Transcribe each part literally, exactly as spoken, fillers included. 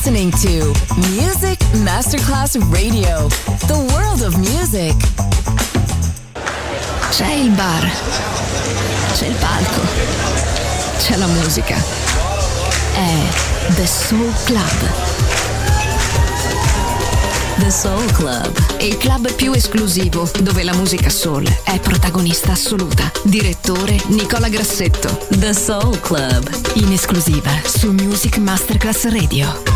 listening to Music Masterclass Radio, the world of music. C'è il bar, c'è il palco, c'è la musica. È The Soul Club. The Soul Club, il club più esclusivo dove la musica soul è protagonista assoluta. Direttore Nicola Grassetto. The Soul Club, in esclusiva su Music Masterclass Radio.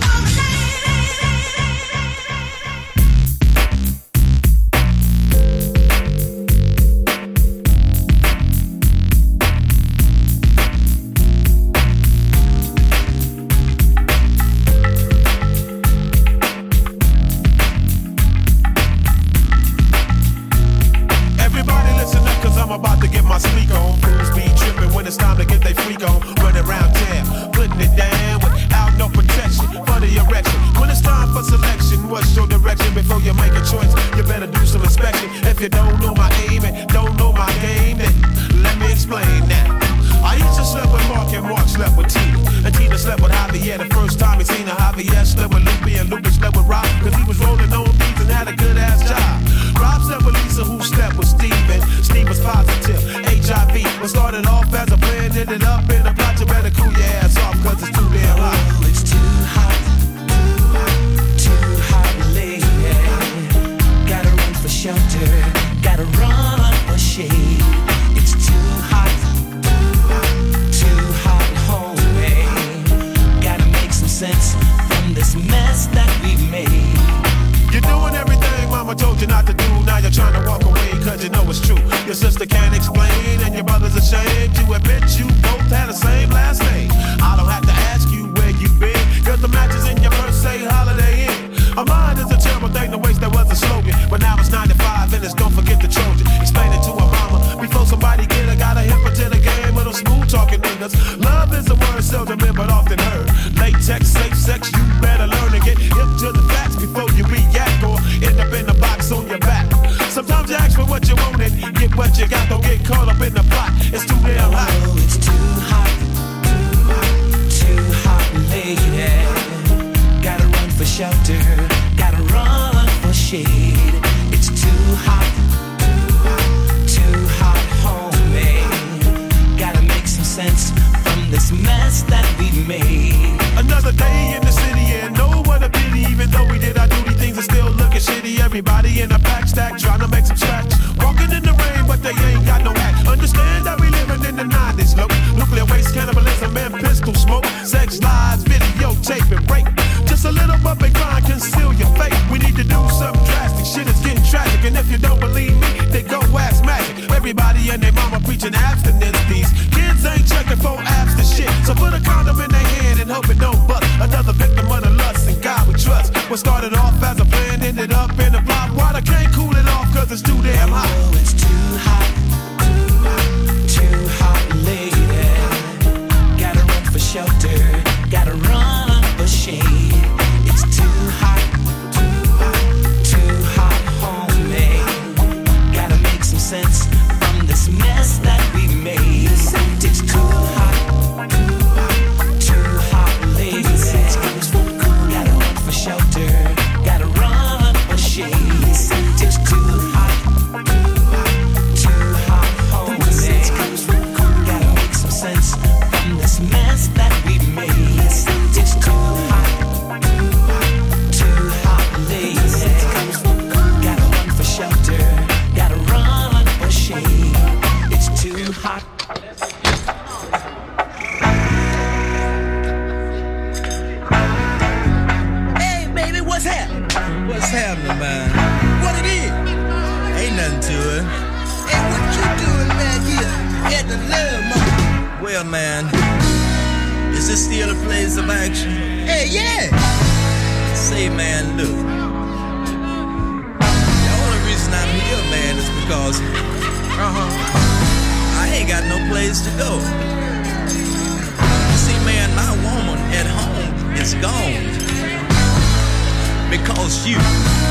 Because you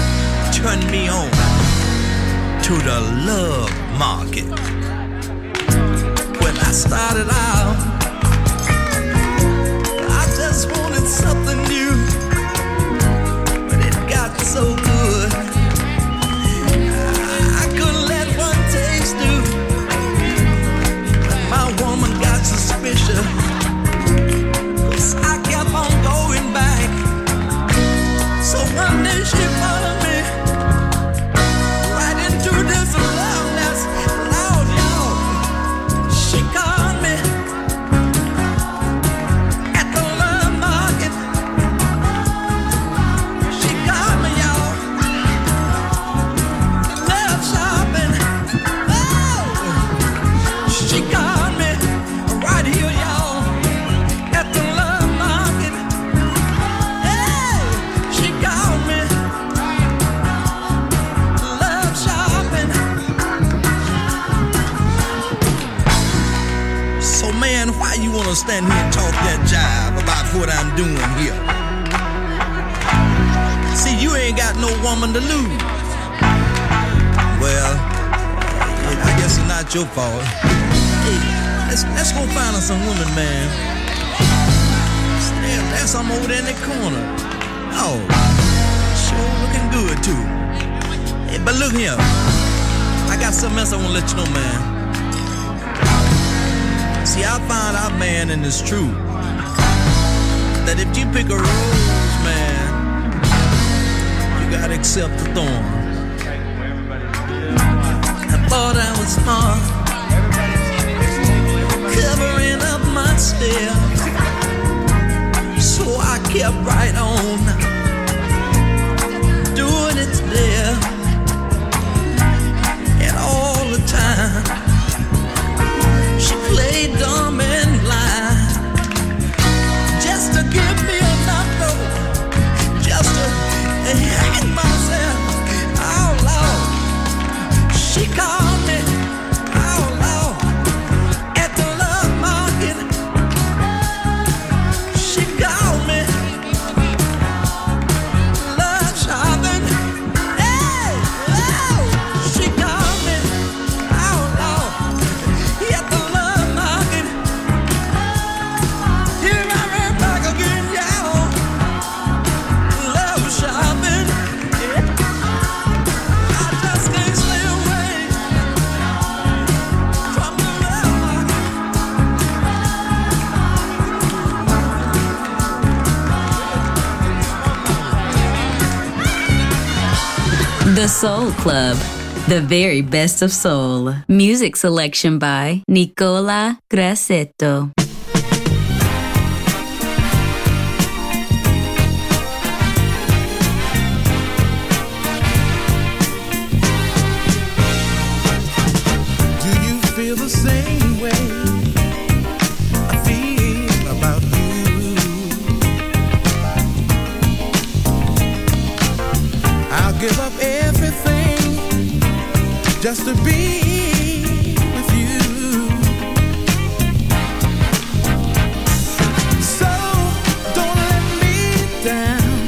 turned me on to the love market. When I started out, I just wanted something new. stand here and talk that jive about what I'm doing here. See, you ain't got no woman to lose. Well, I guess it's not your fault. Hey, let's, let's go find us some women, man. See, there, there's some over there in the corner. Oh, sure looking good, too. Hey, but look here. I got something else I want to let you know, man. See, I found out, man, and it's true, that if you pick a rose, man, you gotta accept the thorn. I thought I was smart, covering up my stare, so I kept right on doing it there, and all the time she played dumb and blind, just to give me enough rope, just to hang myself. Oh Lord, she called me. Oh Lord, at the love market, she called me. Love shopping. Hey, oh, she called me. Oh Lord, at the love market. Here I am back again, y'all. Love shopping. I just can't stay away from the love market. The Soul Club, the very best of soul. Music selection by Nicola Grassetto. Do you feel the same way I feel about you? I'll give up everything just to be with you. So don't let me down.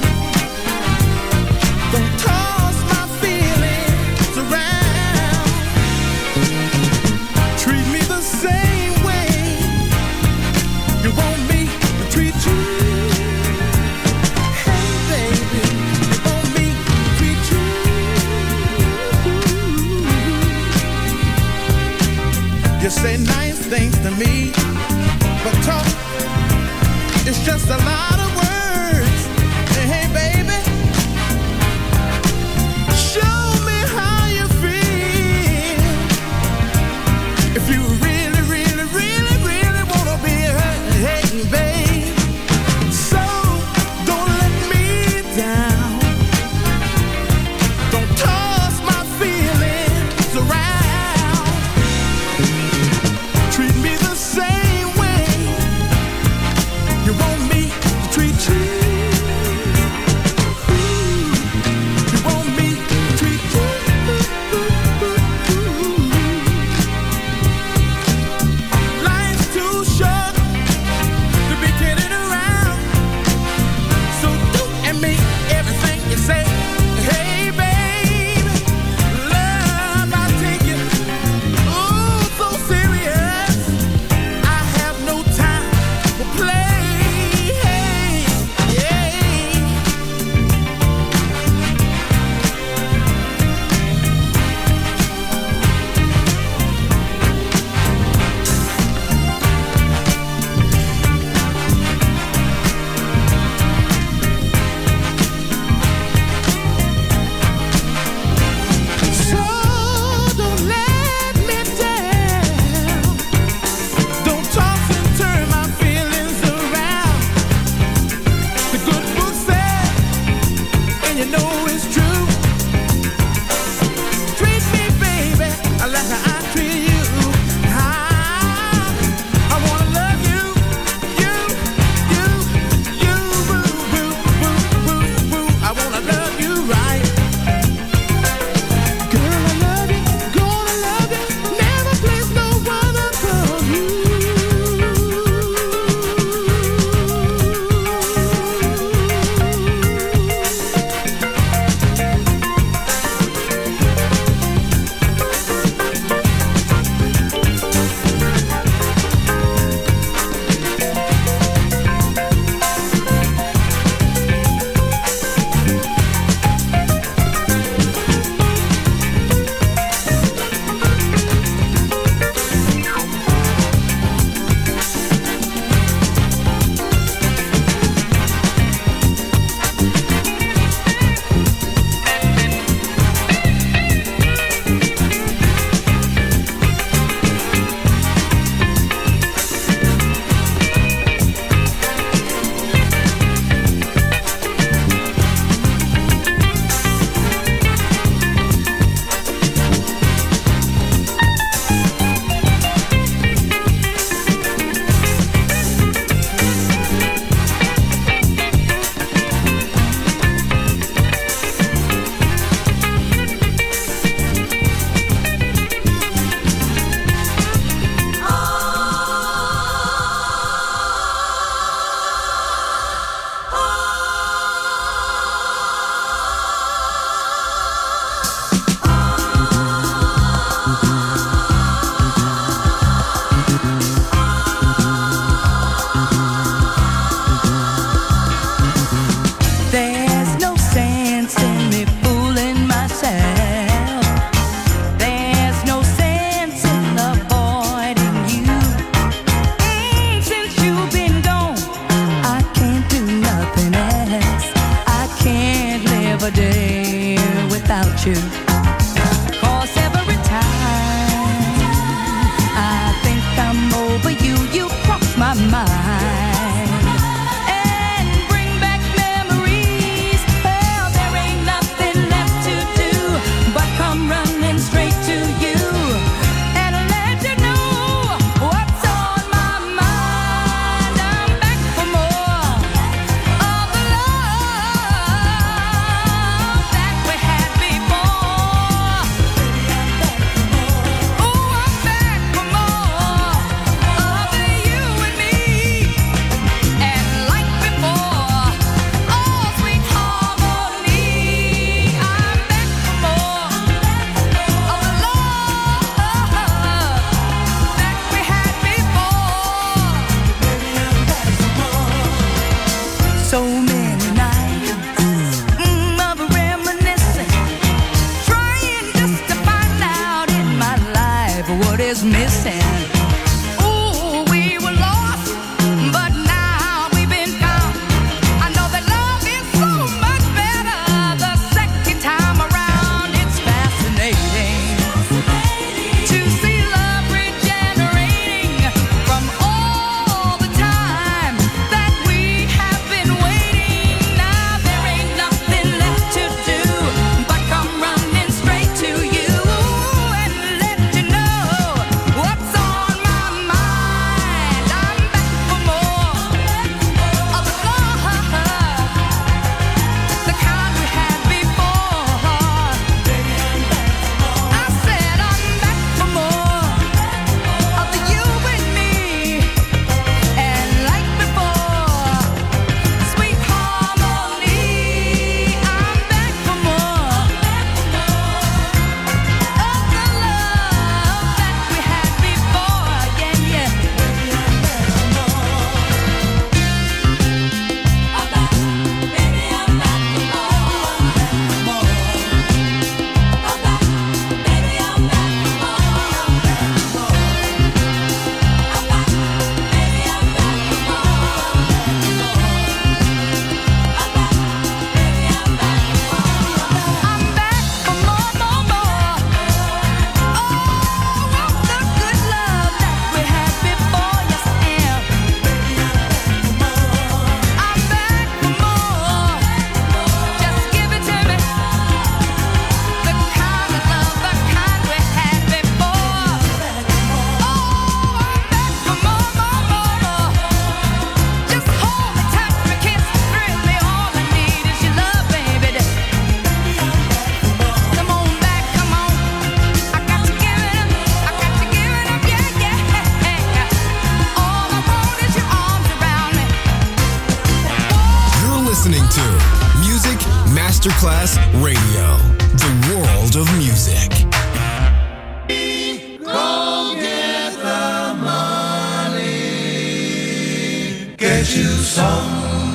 Don't toss my feelings around. Treat me the same way you want me to treat you. Hey baby, you want me to treat you. You say nice things to me, but talk is just a lot of words. Hey, hey baby, show me how you feel. If you really, really, really, really wanna be hurt, hey babe. So don't let me down. Don't toss my feelings around. Treat me the same way you want me to treat you. 'Cause every time I think I'm over you, you cross my mind and bring back memories. Well, there ain't nothing left to do but come running straight to you and let you know what's on my mind. I'm back for more of the love that we had before. Oh, I'm back for more of the you and me, and like before, oh, sweet harmony. I'm back for more of the love that we had before. So many nights mm, of reminiscing, trying just to find out in my life what is missing. Ooh, we were lost, but now we've been found. I know that love is so much better the second time around. It's fascinating to see love regenerating from all the time that we have been waiting. Now there ain't nothing left to do but come running straight to you and let you know what's on my mind. I'm back for more of the love, the kind we had before. I said I'm back for more of the you and me, and like before, sweet harmony. I'm back for more of the love that we had before. Yeah, yeah. I'm back, baby, I'm back for more. I'm back, baby, I'm back for more. I'm back, baby, I'm back for more. I'm back for more, more, more. Oh, of the good love that we had before. Yes, I am. I'm back for more. Just give it to me. The kind of love, the kind we had before. Oh, I'm back for more, more, more, more. Just hold me, touch me, kiss me, thrill me. All I need is your love, baby. Come on back, come on. I got to give it up. I got to give it up, yeah, yeah. All I want is your arms around me. You're listening to Music Masterclass Radio, the world of music. Get you some.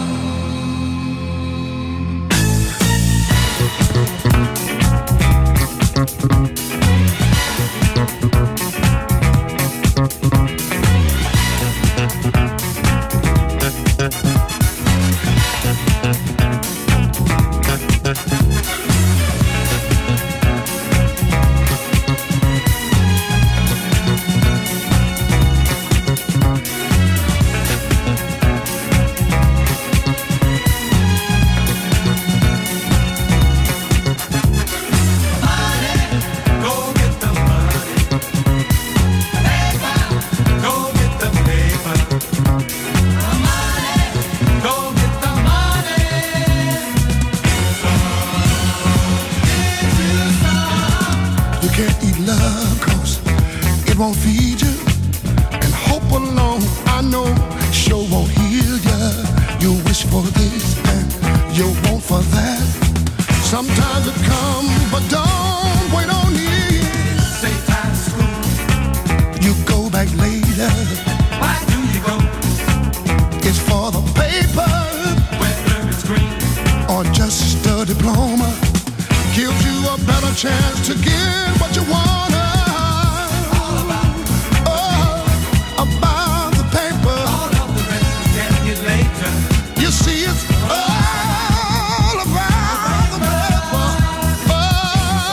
You can't eat love 'cause it won't feed you. And hope alone, I know, sure won't heal ya. You wish for this and you want for that. Sometimes it comes, but don't wait on it. Say time to school. You go back later. Why do you go? It's for the paper Whether it's green. or just a diploma. Gives you a better chance to get what you want. All about, Oh, about the paper. all of the rest is get you later. You see, it's all about the paper. Oh,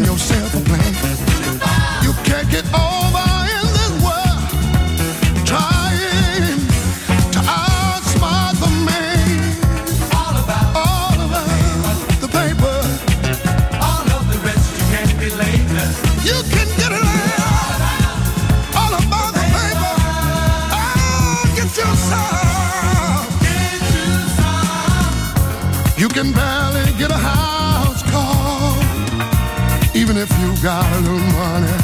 making yourself a plan. You can't get over in this world trying to outsmart the man. All about, all about the paper. All of the rest you can't be later. You can get it all, all about the paper. Oh, get your some. Get you some. You can barely get a house call, even if you got a little money.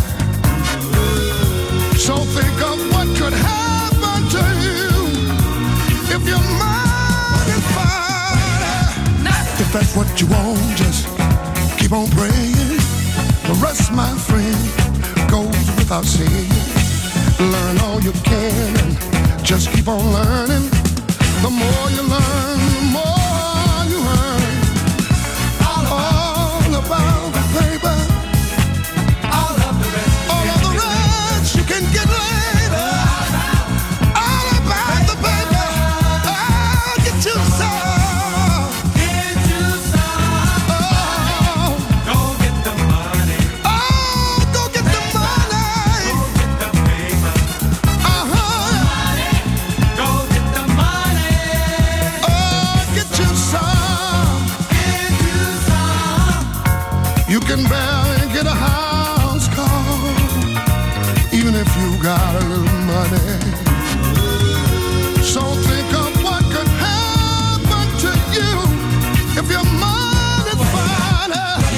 So think of what could happen to you if your mind is fine. If that's what you want, just keep on praying. The rest, my friend, goes without saying. Learn all you can and just keep on learning. The more you learn, the more you earn. All about the paper. All of the rest. All of the rest you can get later. All about the paper. Oh, get you some. Get you some. Oh, Go get the money. oh, go get the money. Go get the paper. Uh-huh. Go get the money. Oh, get you some. Get you some. You can barely get a house call, even if you got a little money. So think of what could happen to you if your mind is fine.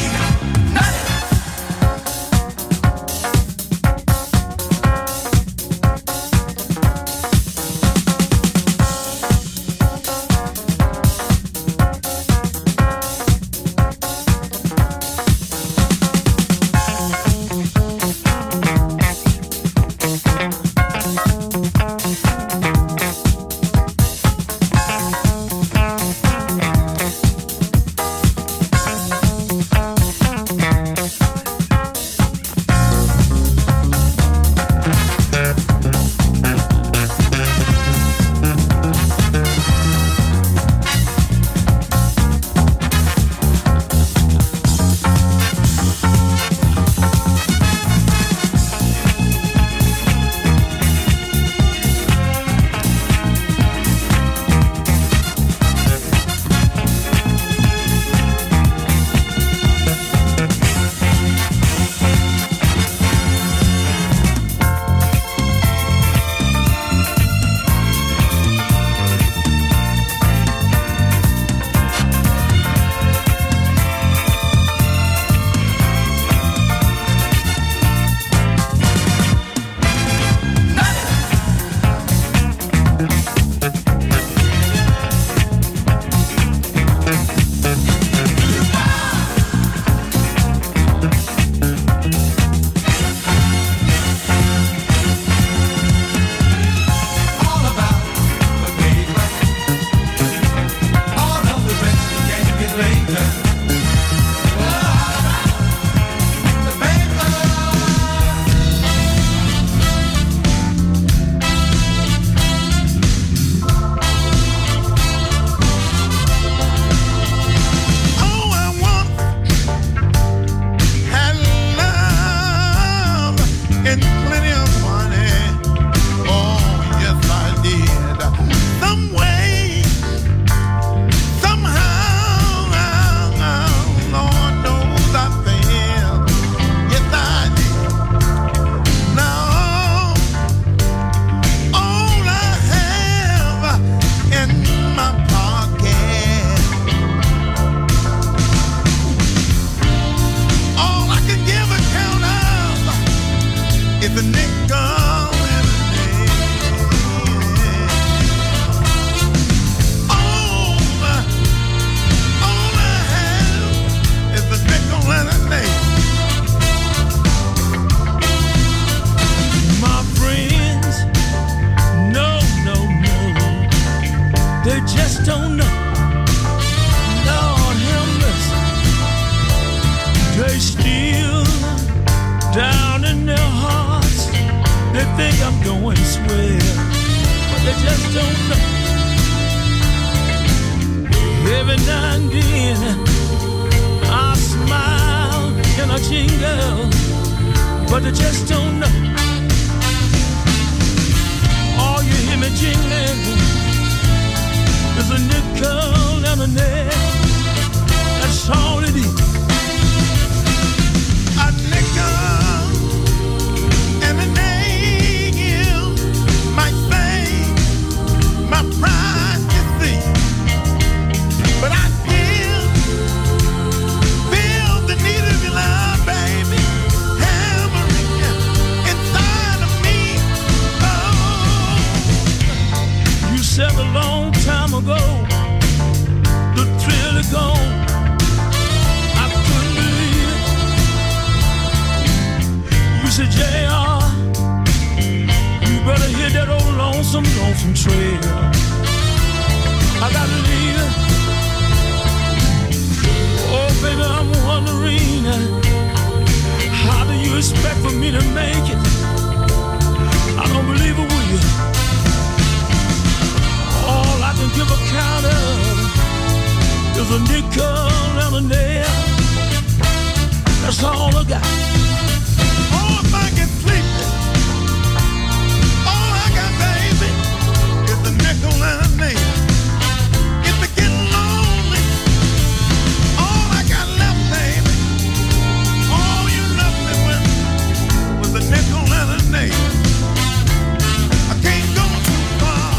All about the paper. All of the rest you can't get later. All about the paper. Oh, I want and love and plenty of money. Oh, yes, I did. Some way, somehow, Lord knows I failed. Yes, I did. Now, all I have in my pocket, all I can give account of is a nickel and a nail. All, all I have is a nickel and a nail. My friends, no, no, no, they just don't know. Lord have mercy, they still down in their hearts. They think I'm going swell, but they just don't know. Every now and then I smile making a jingle, but they just don't know. All you hear me jingling is a nickel and a nail. That's all it is. A nickel and a nail might fade my pride, you see, but I still feel the need of your love, baby, hammering inside of me. Oh, you said a long time ago, the thrill is gone. I couldn't believe it. You said, J R, you better hit that old lonesome, lonesome trail. I gotta leave it. Oh, baby, I'm wondering, how do you expect for me to make it? I don't believe it, will you? All I can give account of is a nickel and a nail. That's all I got. oh, if I can sleep it, all I got, baby, is a nickel and a nail. If it getting lonely, all I got left, baby, all you left me with was a nickel and a nail. I can't go too far.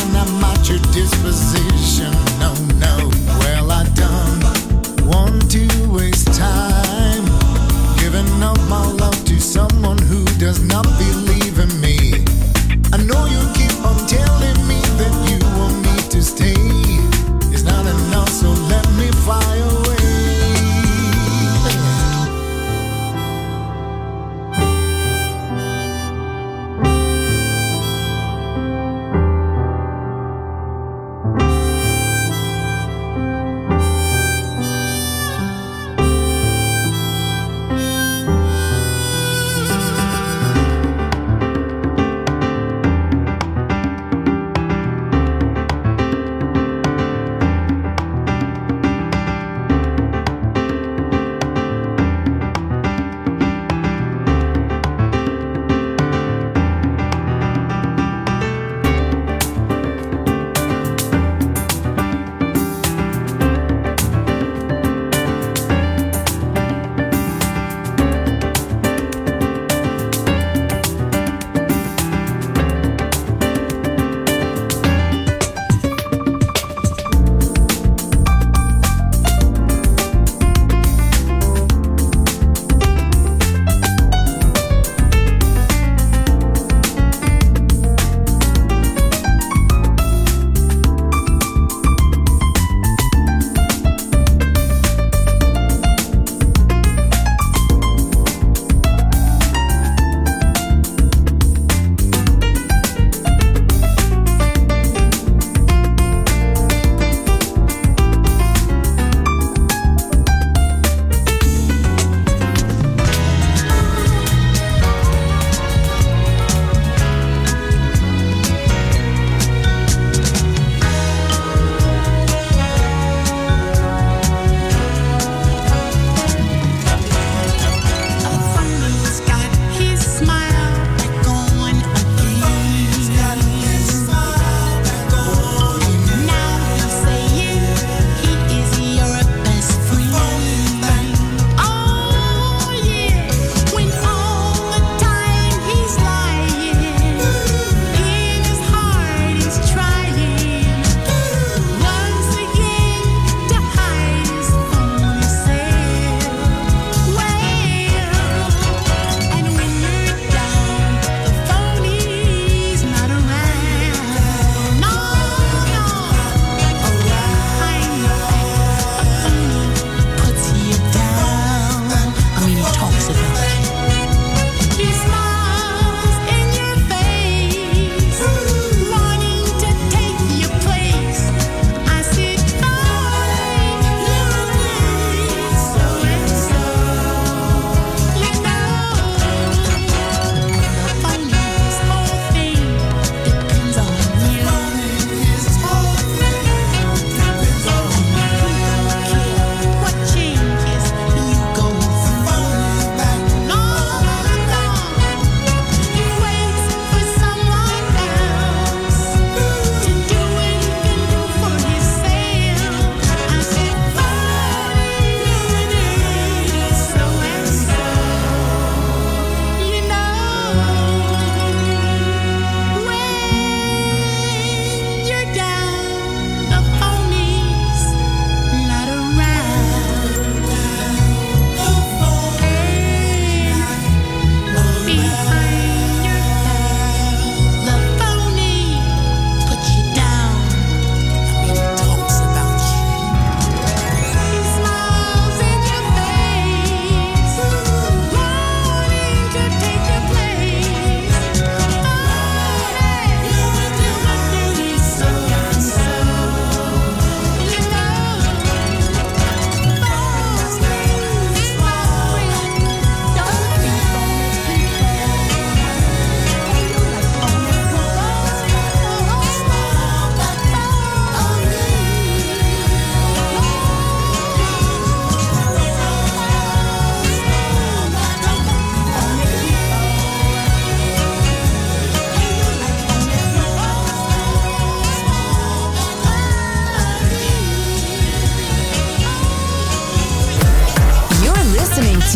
Disposition, no, no. Well, I done one, two.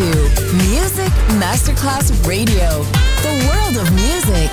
to Music Masterclass Radio, the world of music.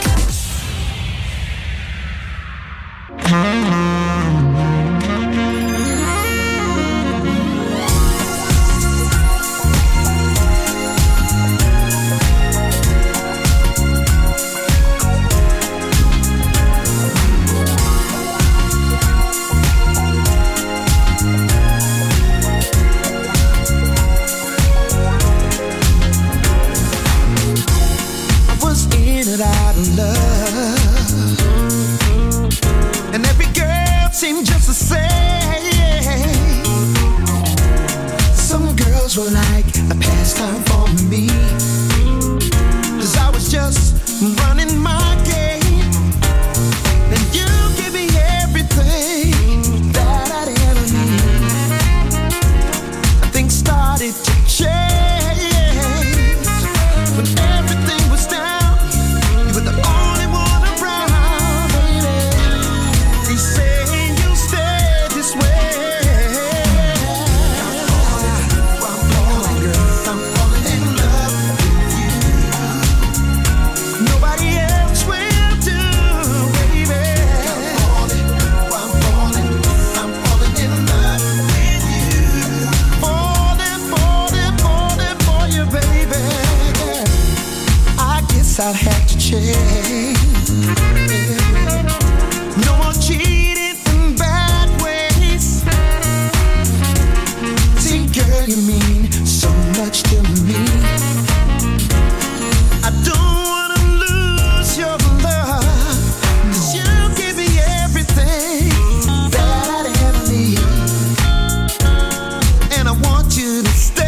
I'll have to change. No more cheating in bad ways. See, girl, you mean so much to me. I don't wanna lose your love, 'cause you give me everything that I ever need, and I want you to stay.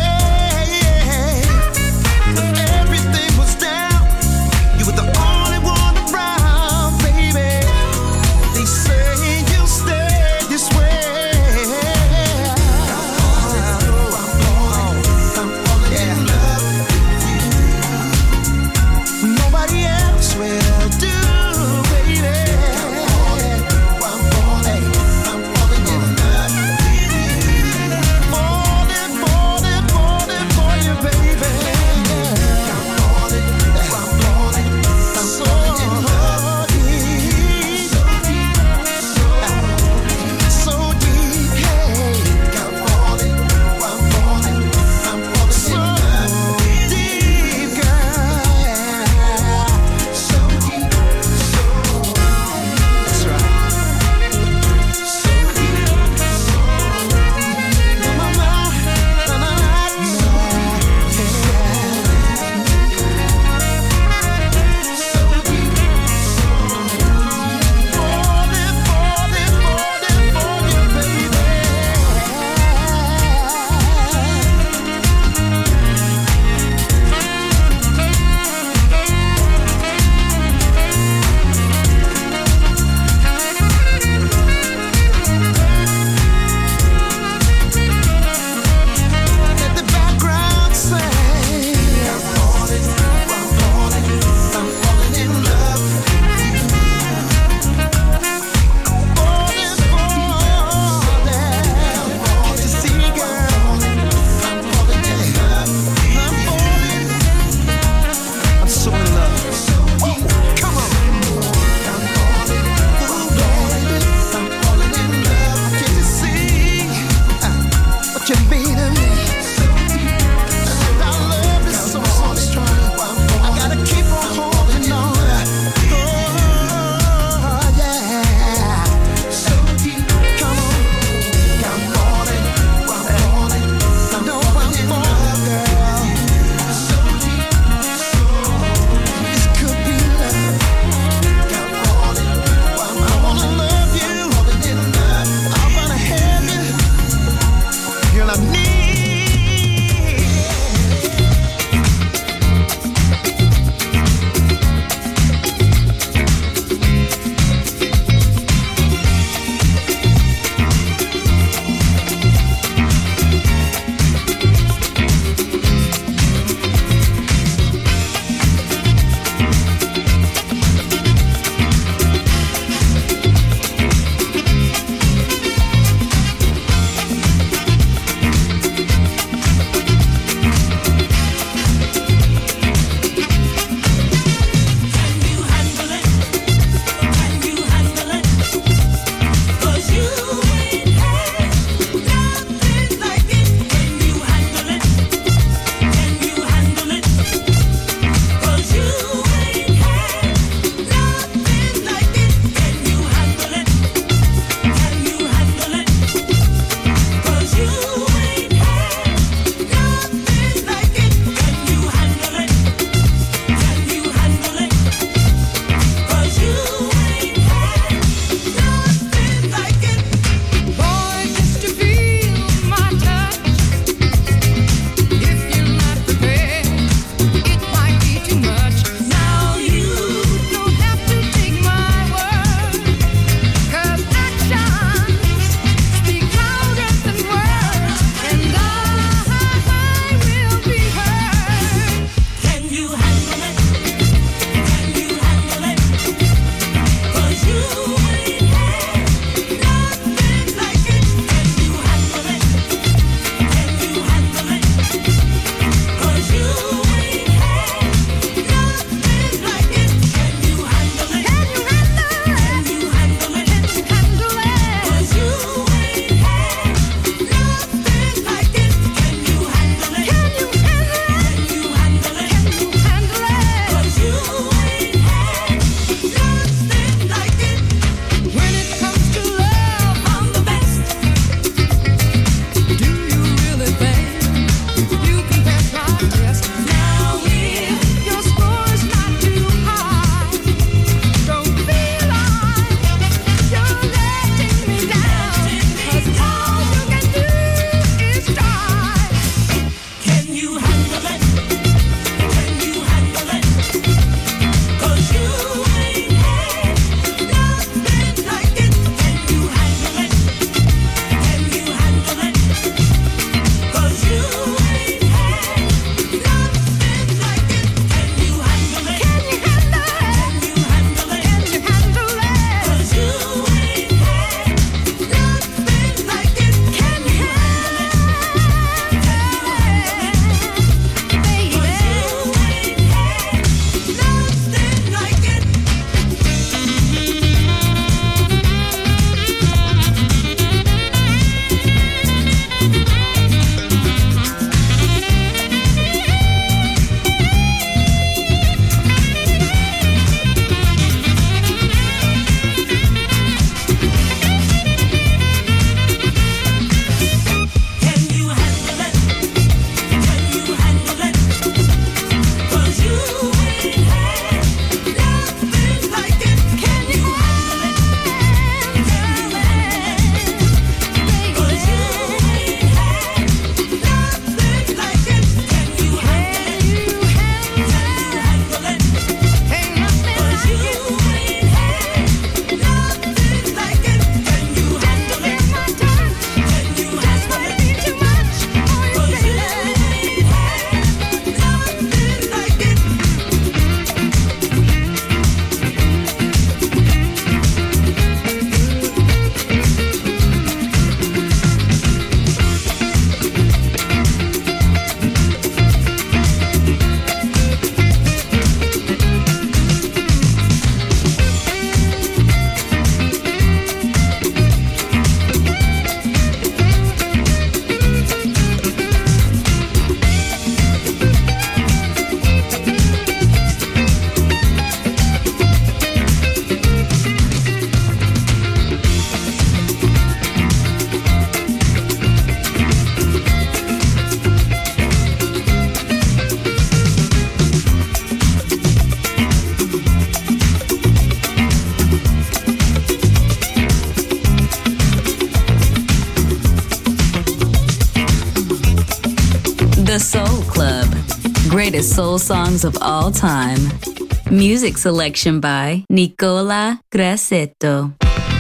The Soul Club. Greatest soul songs of all time. Music selection by Nicola Grassetto.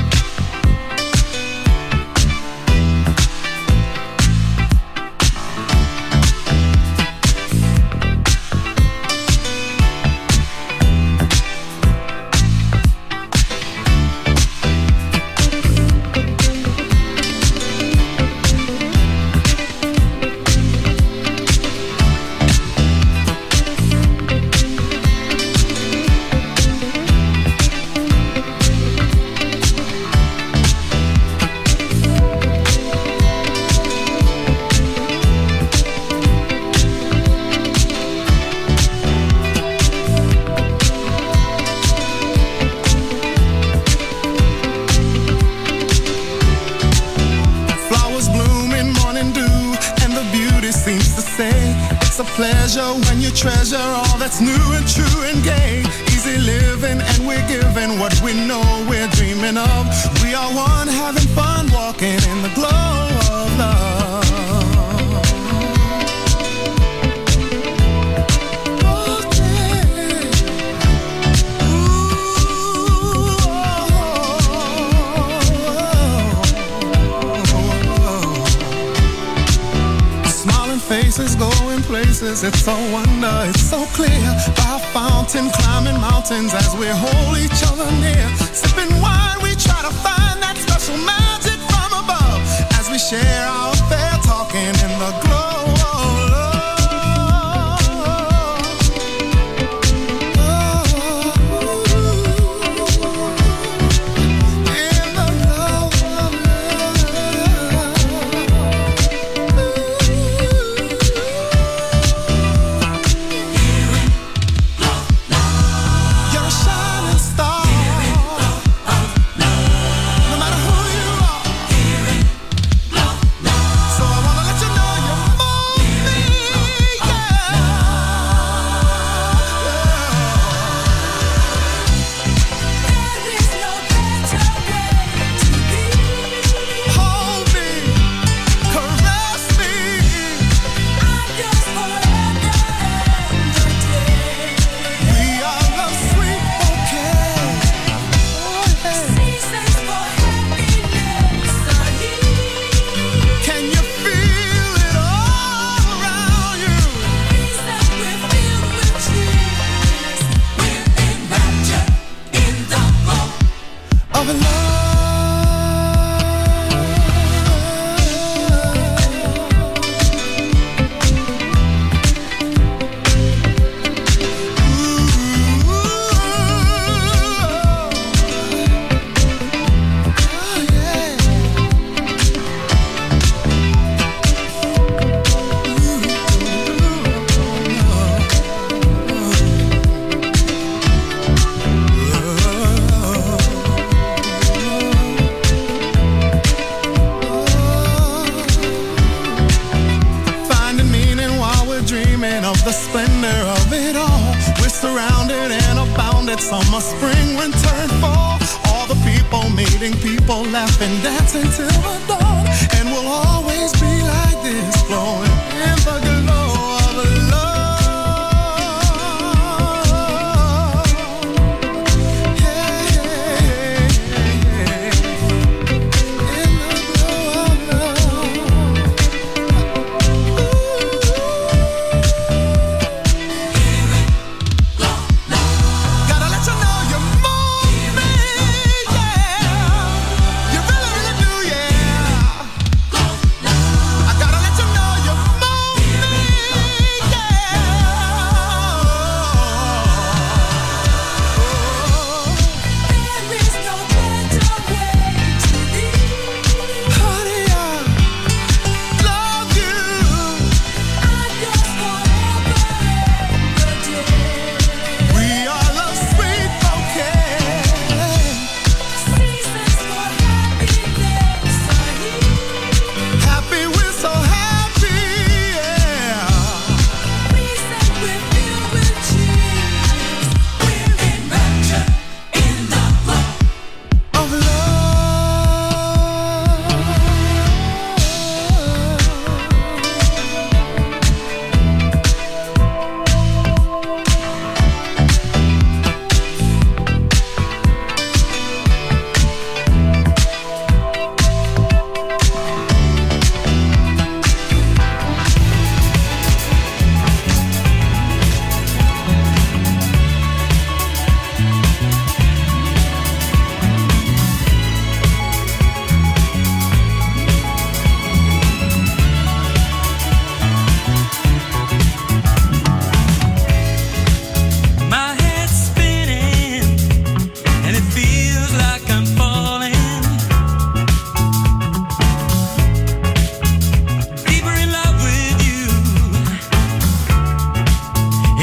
When you treasure all that's new and true and gay, easy living and we're giving what we know we're dreaming of. We are one having fun walking in the glow of love. Faces going places, it's so wonder, it's so clear. By a fountain, climbing mountains as we hold each other near. Sipping wine, we try to find that special magic from above. As we share our affair, talking in the glow of love. Summer, spring, winter, and fall. All the people meeting people, laughing, dancing till the dawn. And we'll always be like this, flowing in the glow of love. Yeah, yeah, yeah. In the glow of love. Gotta let you know you move me, yeah. You really, really do, yeah.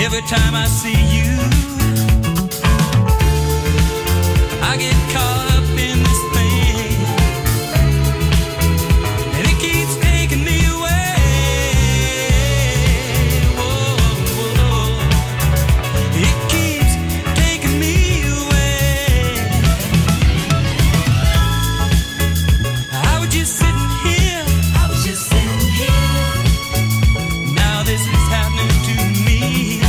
Every time I see you, I get caught up in this thing, and it keeps taking me away. Whoa, whoa. It keeps taking me away. I was just sitting here, I was just sitting here. Now this is happening to me.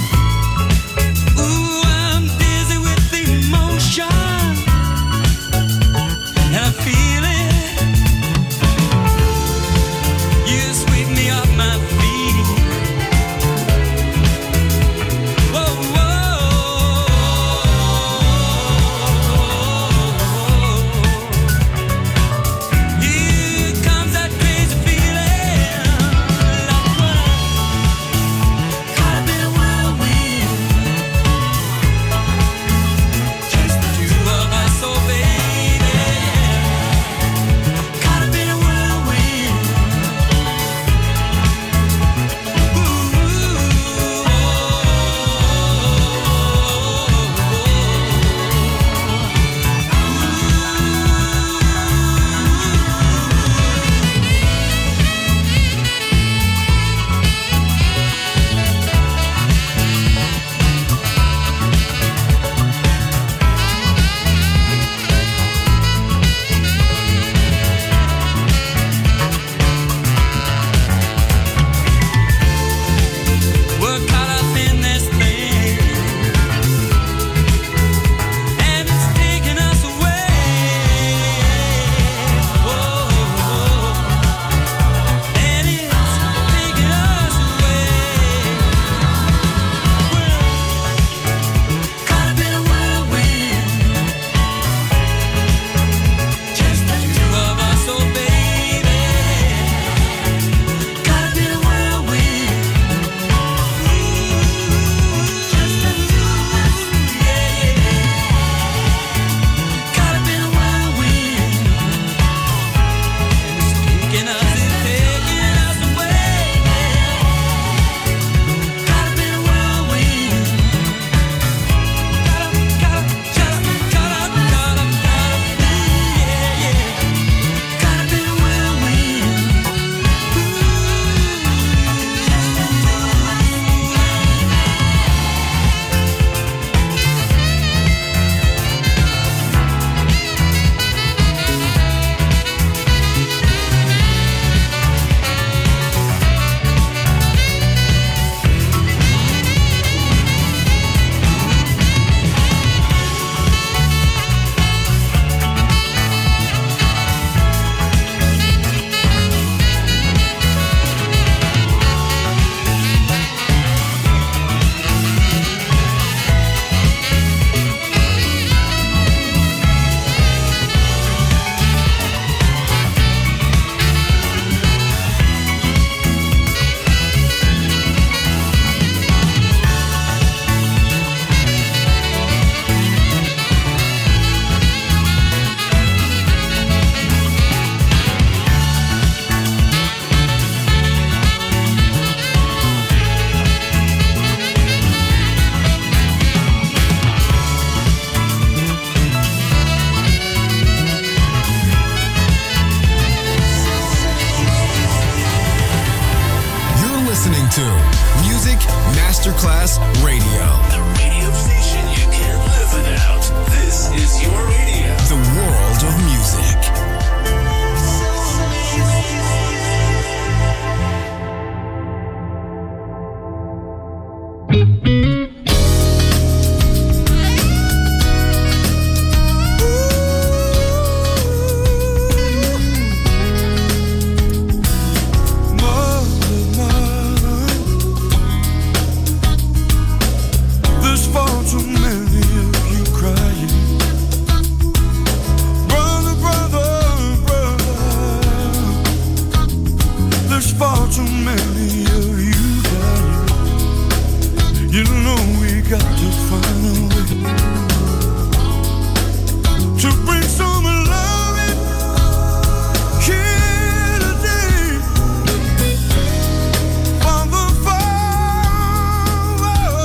Ooh, I'm dizzy with emotion, and I feel it. You sweep me off my feet. Whoa, whoa. Here comes that crazy feeling, like one caught up in a whirlwind. Just the two of us, oh baby, caught up in a whirlwind. We're caught up in this thing, and it's taking us away. Whoa, and it's taking us away. We're caught up in a whirlwind. Just the two of us, oh baby, caught up in a whirlwind. Just the two of us, yeah. Caught up in a whirlwind, and it's taking us, it's taking us away. Caught up in a whirlwind. Caught up, caught up, just caught up, caught up, caught up, yeah, yeah. Caught up in a whirlwind. Just the two of us. You're listening to Music Masterclass Radio. The radio station you can't live without. This is your radio. The world of music. There's far too many of you crying. Brother, brother, brother. There's far too many of you dying. You know we got to find a way to bring some love in here today. Father, Father,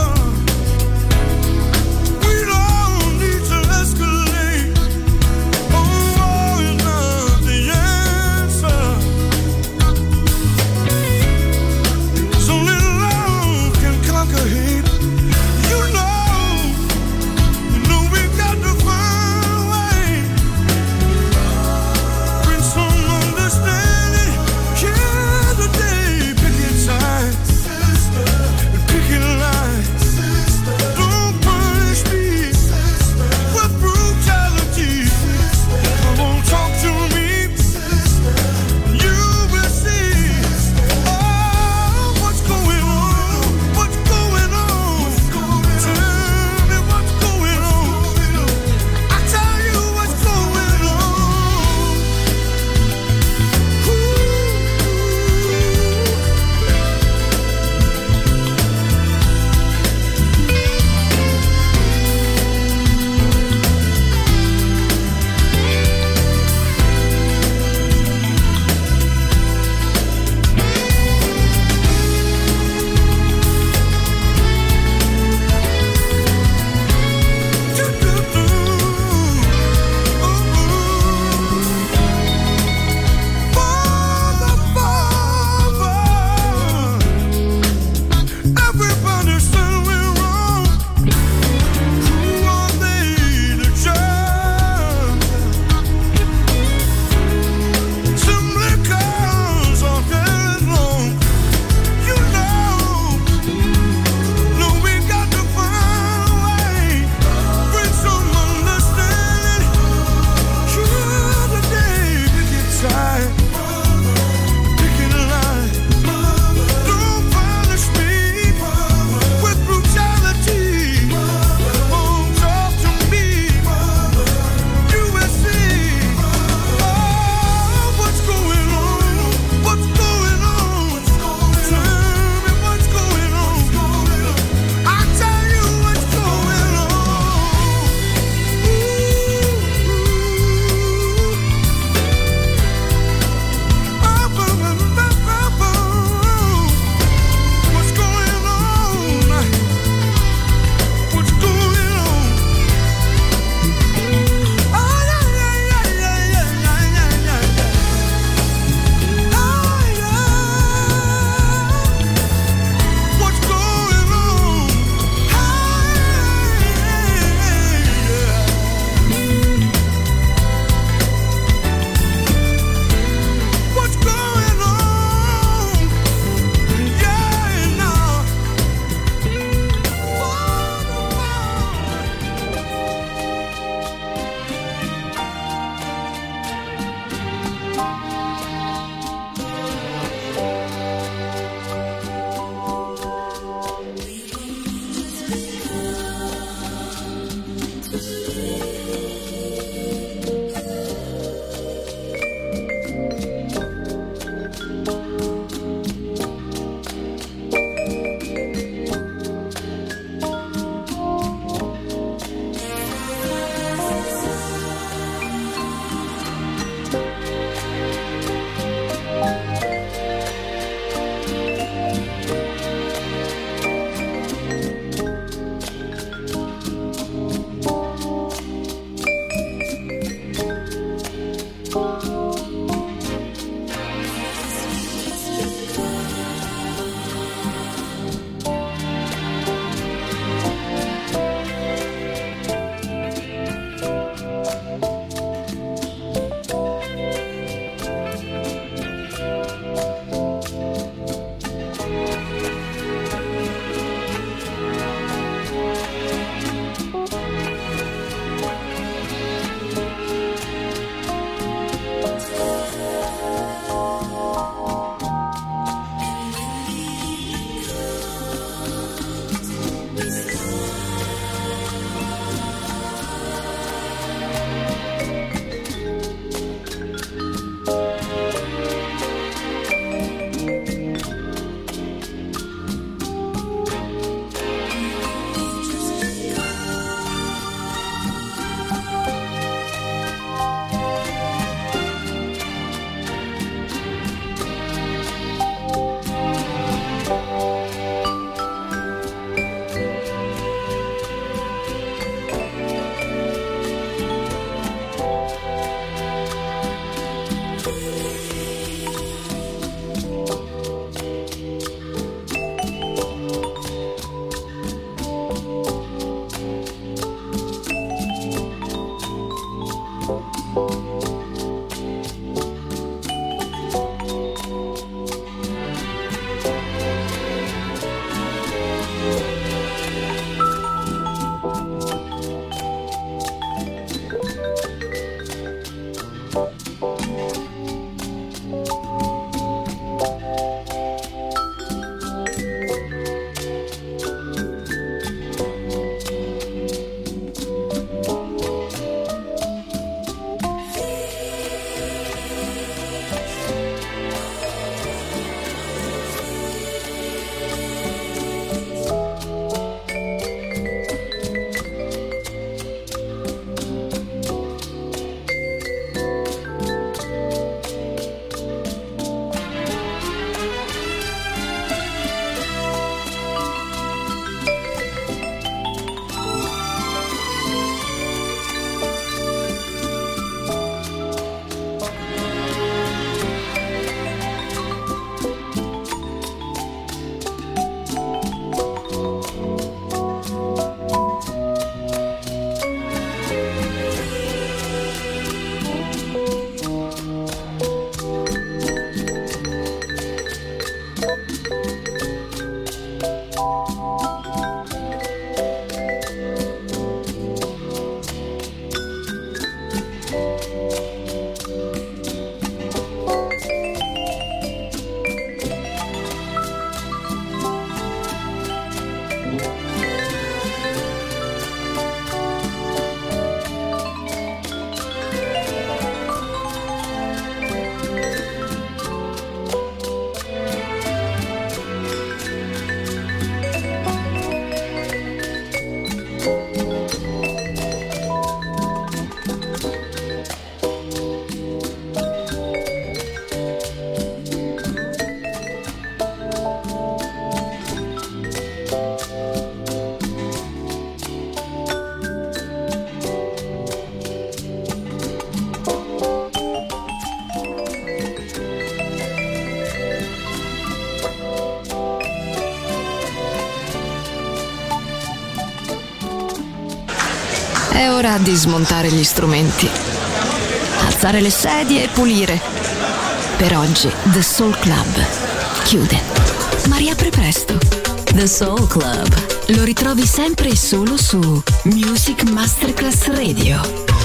È ora di smontare gli strumenti, alzare le sedie e pulire. Per oggi The Soul Club chiude, ma riapre presto. The Soul Club lo ritrovi sempre e solo su Music Masterclass Radio.